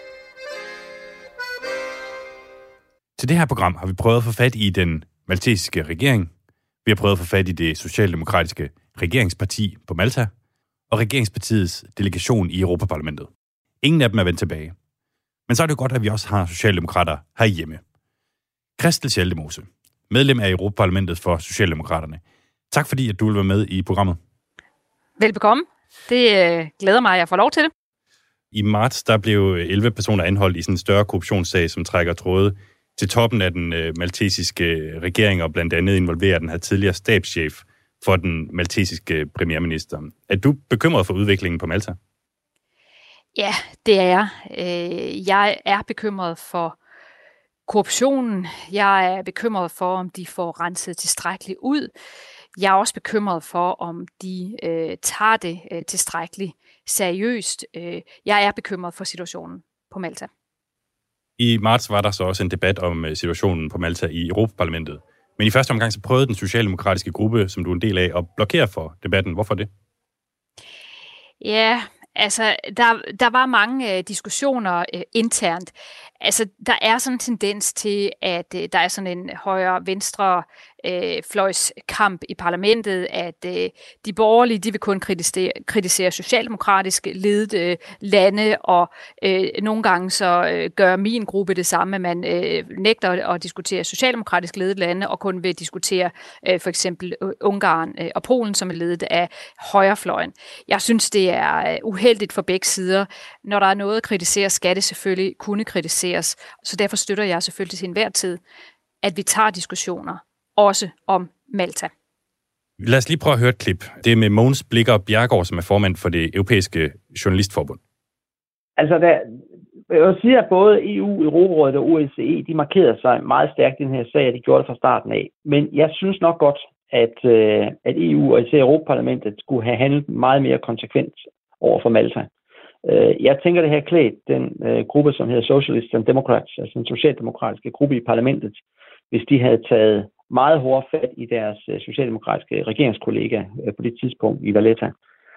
Til det her program har vi prøvet at få fat i den maltesiske regering. Vi har prøvet at få fat i det socialdemokratiske regeringsparti på Malta og regeringspartiets delegation i Europaparlamentet. Ingen af dem er vendt tilbage. Men så er det godt, at vi også har socialdemokrater herhjemme. Christel Schaldemose, medlem af Europaparlamentet for Socialdemokraterne. Tak fordi, at du vil være med i programmet. Velbekomme. Det glæder mig, at jeg får lov til det. I marts der blev 11 personer anholdt i sådan en større korruptionssag, som trækker tråde til toppen af den maltesiske regering, og blandt andet involverer den her tidligere stabschef for den maltesiske premierminister. Er du bekymret for udviklingen på Malta? Ja, det er jeg. Jeg er bekymret for korruptionen. Jeg er bekymret for, om de får renset tilstrækkeligt ud. Jeg er også bekymret for, om de tager det tilstrækkeligt seriøst. Jeg er bekymret for situationen på Malta. I marts var der så også en debat om situationen på Malta i Europaparlamentet. Men i første omgang så prøvede den socialdemokratiske gruppe, som du er en del af, at blokere for debatten. Hvorfor det? Ja, altså der var mange diskussioner internt. Altså der er sådan en tendens til, at der er sådan en højre-venstre fløjskamp i parlamentet, at de borgerlige, de vil kun kritisere socialdemokratisk ledede lande, og nogle gange så gør min gruppe det samme, man nægter at diskutere socialdemokratisk ledede lande, og kun vil diskutere for eksempel Ungarn og Polen, som er ledet af højrefløjen. Jeg synes, det er uheldigt for begge sider. Når der er noget at kritisere, skal det selvfølgelig kunne kritiseres, så derfor støtter jeg selvfølgelig til enhver tid, at vi tager diskussioner også om Malta. Lad os lige prøve at høre et klip. Det er med Mogens Blikker Bjerregaard, som er formand for det europæiske journalistforbund. Altså, jeg vil sige, at både EU, Europarådet og OSCE, de markerede sig meget stærkt i den her sag, og de gjorde det fra starten af. Men jeg synes nok godt, at EU og især Europaparlamentet skulle have handlet meget mere konsekvent over for Malta. Jeg tænker, det her klædt den gruppe, som hedder Socialists and Democrats, altså den socialdemokratiske gruppe i parlamentet, hvis de havde taget meget hårdt fat i deres socialdemokratiske regeringskollega på det tidspunkt i Valletta.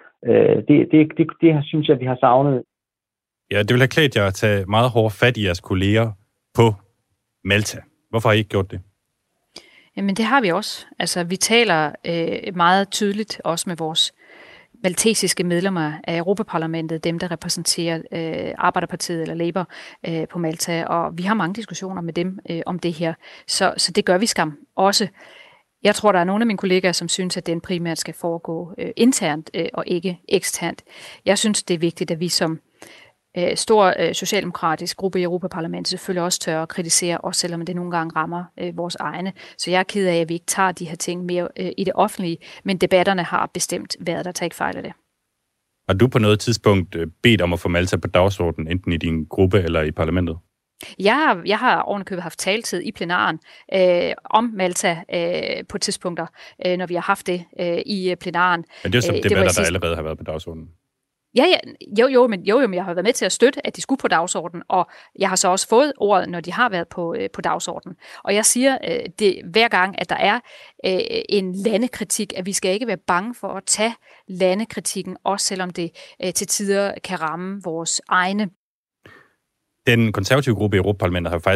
Det synes jeg, vi har savnet. Ja, det vil have klædt jer at tage meget hårdt fat i jeres kolleger på Malta. Hvorfor har I ikke gjort det? Jamen det har vi også. Altså vi taler meget tydeligt også med vores maltesiske medlemmer af Europaparlamentet, dem der repræsenterer Arbejderpartiet eller Labour på Malta, og vi har mange diskussioner med dem om det her, så det gør vi skam også. Jeg tror, der er nogle af mine kollegaer, som synes, at den primært skal foregå internt og ikke eksternt. Jeg synes, det er vigtigt, at vi som stor socialdemokratisk gruppe i Europaparlamentet selvfølgelig også tør at kritisere, også selvom det nogle gange rammer vores egne. Så jeg er ked af, at vi ikke tager de her ting mere i det offentlige, men debatterne har bestemt været der, tager ikke fejl af det. Har du på noget tidspunkt bedt om at få Malta på dagsordenen, enten i din gruppe eller i parlamentet? Jeg har ovenikøbet haft taletid i plenaren om Malta på tidspunkter, når vi har haft det i plenaren. Men det er jo så debatter, der allerede har været på dagsordenen. Men jeg har været med til at støtte, at de skulle på dagsordenen, og jeg har så også fået ordet, når de har været på dagsordenen. Og jeg siger det hver gang, at der er en landekritik, at vi skal ikke være bange for at tage landekritikken, også selvom det til tider kan ramme vores egne. Den konservative gruppe i Europaparlamentet har faktisk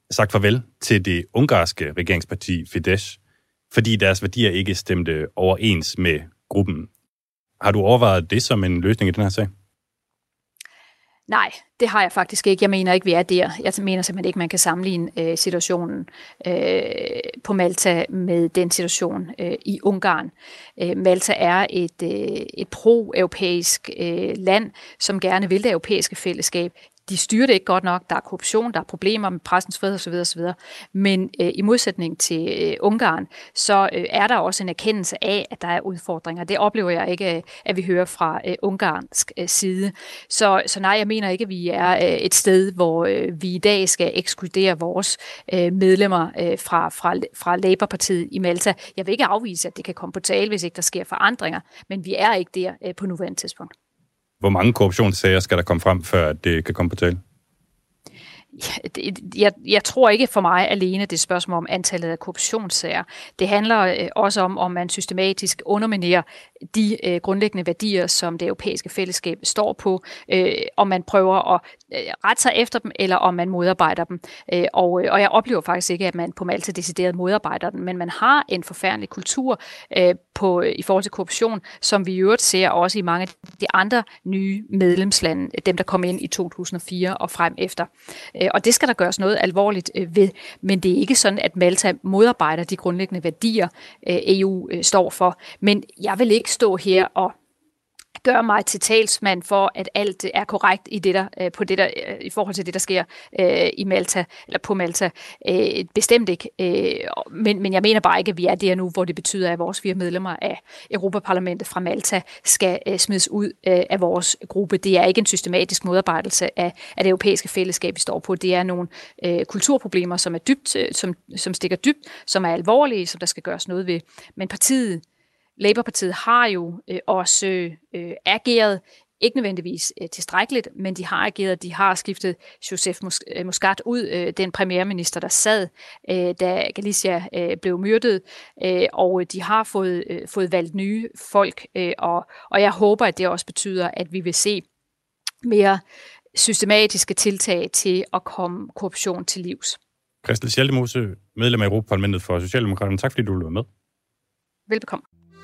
sagt farvel til det ungarske regeringsparti Fidesz, fordi deres værdier ikke stemte overens med gruppen. Har du overvejet det som en løsning i den her sag? Nej, det har jeg faktisk ikke. Jeg mener ikke, vi er der. Jeg mener simpelthen ikke, man kan sammenligne situationen på Malta med den situation i Ungarn. Malta er et pro-europæisk land, som gerne vil det europæiske fællesskab. De styrer det ikke godt nok. Der er korruption, der er problemer med pressens frihed osv. osv. Men i modsætning til Ungarn, så er der også en erkendelse af, at der er udfordringer. Det oplever jeg ikke, at vi hører fra ungarsk side. Så nej, jeg mener ikke, at vi er et sted, hvor vi i dag skal ekskludere vores medlemmer fra Labour-partiet i Malta. Jeg vil ikke afvise, at det kan komme på tale, hvis ikke der sker forandringer, men vi er ikke der på nuværende tidspunkt. Hvor mange korruptionssager skal der komme frem, før det kan komme på tale? Jeg tror ikke for mig alene, det er et spørgsmål om antallet af korruptionssager. Det handler også om man systematisk underminerer de grundlæggende værdier, som det europæiske fællesskab står på, om man prøver at rette sig efter dem, eller om man modarbejder dem. Og jeg oplever faktisk ikke, at man på Malta decideret modarbejder dem, men man har en forfærdelig kultur i forhold til korruption, som vi i øvrigt ser også i mange af de andre nye medlemslande, dem der kom ind i 2004 og frem efter. Og det skal der gøres noget alvorligt ved, men det er ikke sådan, at Malta modarbejder de grundlæggende værdier, EU står for. Men jeg vil ikke stå her og gøre mig til talsmand for, at alt er korrekt i i forhold til det, der sker i Malta, eller på Malta. Bestemt ikke. Men jeg mener bare ikke, at vi er der nu, hvor det betyder, at vores 4 medlemmer af Europaparlamentet fra Malta skal smides ud af vores gruppe. Det er ikke en systematisk modarbejdelse af det europæiske fællesskab, vi står på. Det er nogle kulturproblemer, som er dybt, som stikker dybt, som er alvorlige, som der skal gøres noget ved. Men Labour-partiet har jo også ageret, ikke nødvendigvis tilstrækkeligt, men de har ageret. De har skiftet Joseph Muscat ud, den premierminister, der sad, da Galicia blev myrdet, og de har fået valgt nye folk, og jeg håber, at det også betyder, at vi vil se mere systematiske tiltag til at komme korruption til livs. Christel Schaldemose, medlem af Europaparlamentet for Socialdemokraterne. Tak fordi du var med. Velbekomme.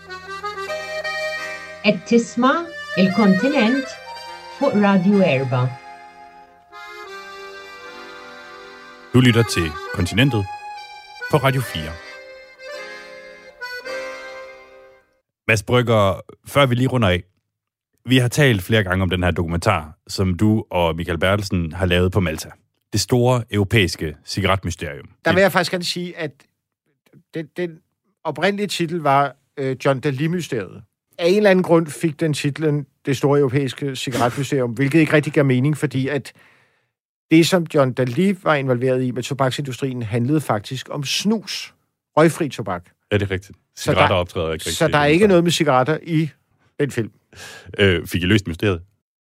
التسمع الكونتيننت på Radio Erba. Du lytter til Kontinentet på Radio 4. Mads Brygger, før vi lige runder af, vi har talt flere gange om den her dokumentar, som du og Michael Bertelsen har lavet på Malta. Det store europæiske cigaretmysterium. Der vil jeg faktisk gerne sige, at den oprindelige titel var John Dalli-mysteriet. Af en eller anden grund fik den titlen Det store europæiske cigaretmysterium, hvilket ikke rigtig gav mening, fordi at det, som John Dalli var involveret i med tobaksindustrien, handlede faktisk om snus. Røgfri tobak. Ja, det er rigtigt. Cigaretter optræder ikke rigtigt. Så der er ikke noget med cigaretter i den film. Fik I løst mysteriet?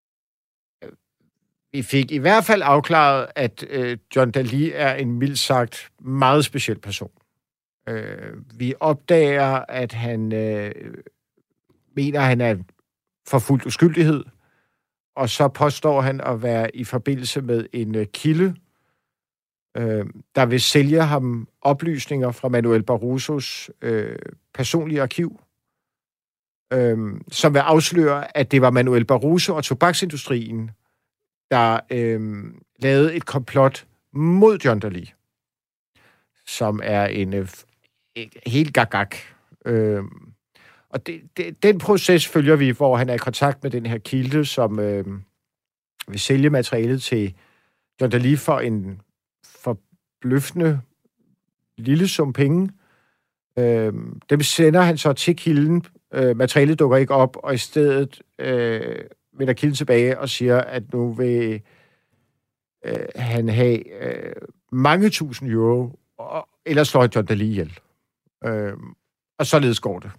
Vi fik i hvert fald afklaret, at John Dalli er en mildt sagt meget speciel person. Vi opdager, at han mener, at han er forfulgt uskyldighed, og så påstår han at være i forbindelse med en kilde, der vil sælge ham oplysninger fra Manuel Barrosos personlige arkiv, som vil afsløre, at det var Manuel Barroso og tobaksindustrien, der lavede et komplot mod John Dalli, som er en helt gagag. Og den proces følger vi, hvor han er i kontakt med den her kilde, som vil sælge materialet til John Dalli for en forbløffende lille sum penge. Dem sender han så til kilden. Materialet dukker ikke op, og i stedet vender kilden tilbage og siger, at nu vil han have mange tusind euro, ellers slår John Dalli ihjel. Og således går det.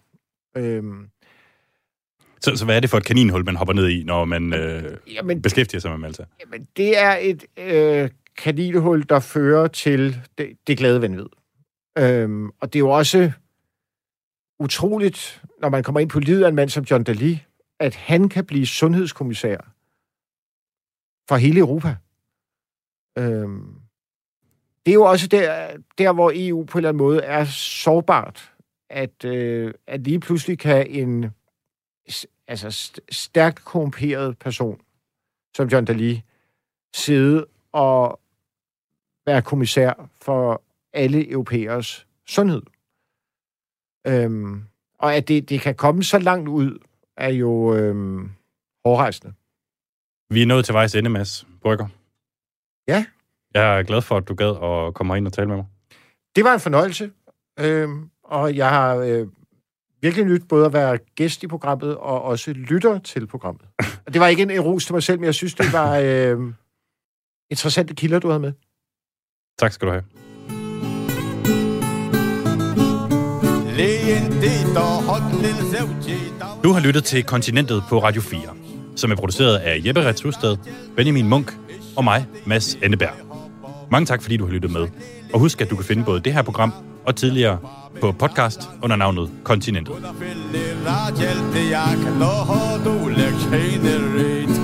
Så hvad er det for et kaninhul, man hopper ned i, når man beskæftiger sig med Malta? Jamen, det er et kaninhul, der fører til det glade vanvid. Og det er jo også utroligt, når man kommer ind på livet af en mand som John Dalli, at han kan blive sundhedskommissær for hele Europa. det er jo også der, hvor EU på en eller anden måde er sårbart, at lige pludselig kan en stærkt korrumperet person, som John Dalli, sidde og være kommissær for alle europæers sundhed. Og at det kan komme så langt ud, er jo hårdrejsende. Vi er nået til vejs ende, Mads Brügger. Ja. Jeg er glad for, at du gad at komme ind og tale med mig. Det var en fornøjelse, og jeg har virkelig nyt både at være gæst i programmet og også lytter til programmet. Og det var ikke en ros til mig selv, men jeg synes, det var interessante kilder, du havde med. Tak skal du have. Du har lyttet til Kontinentet på Radio 4, som er produceret af Jeppe Retz Husted, Benjamin Munk og mig, Mads Enneberg. Mange tak, fordi du har lyttet med. Og husk, at du kan finde både det her program og tidligere på podcast under navnet Kontinentet.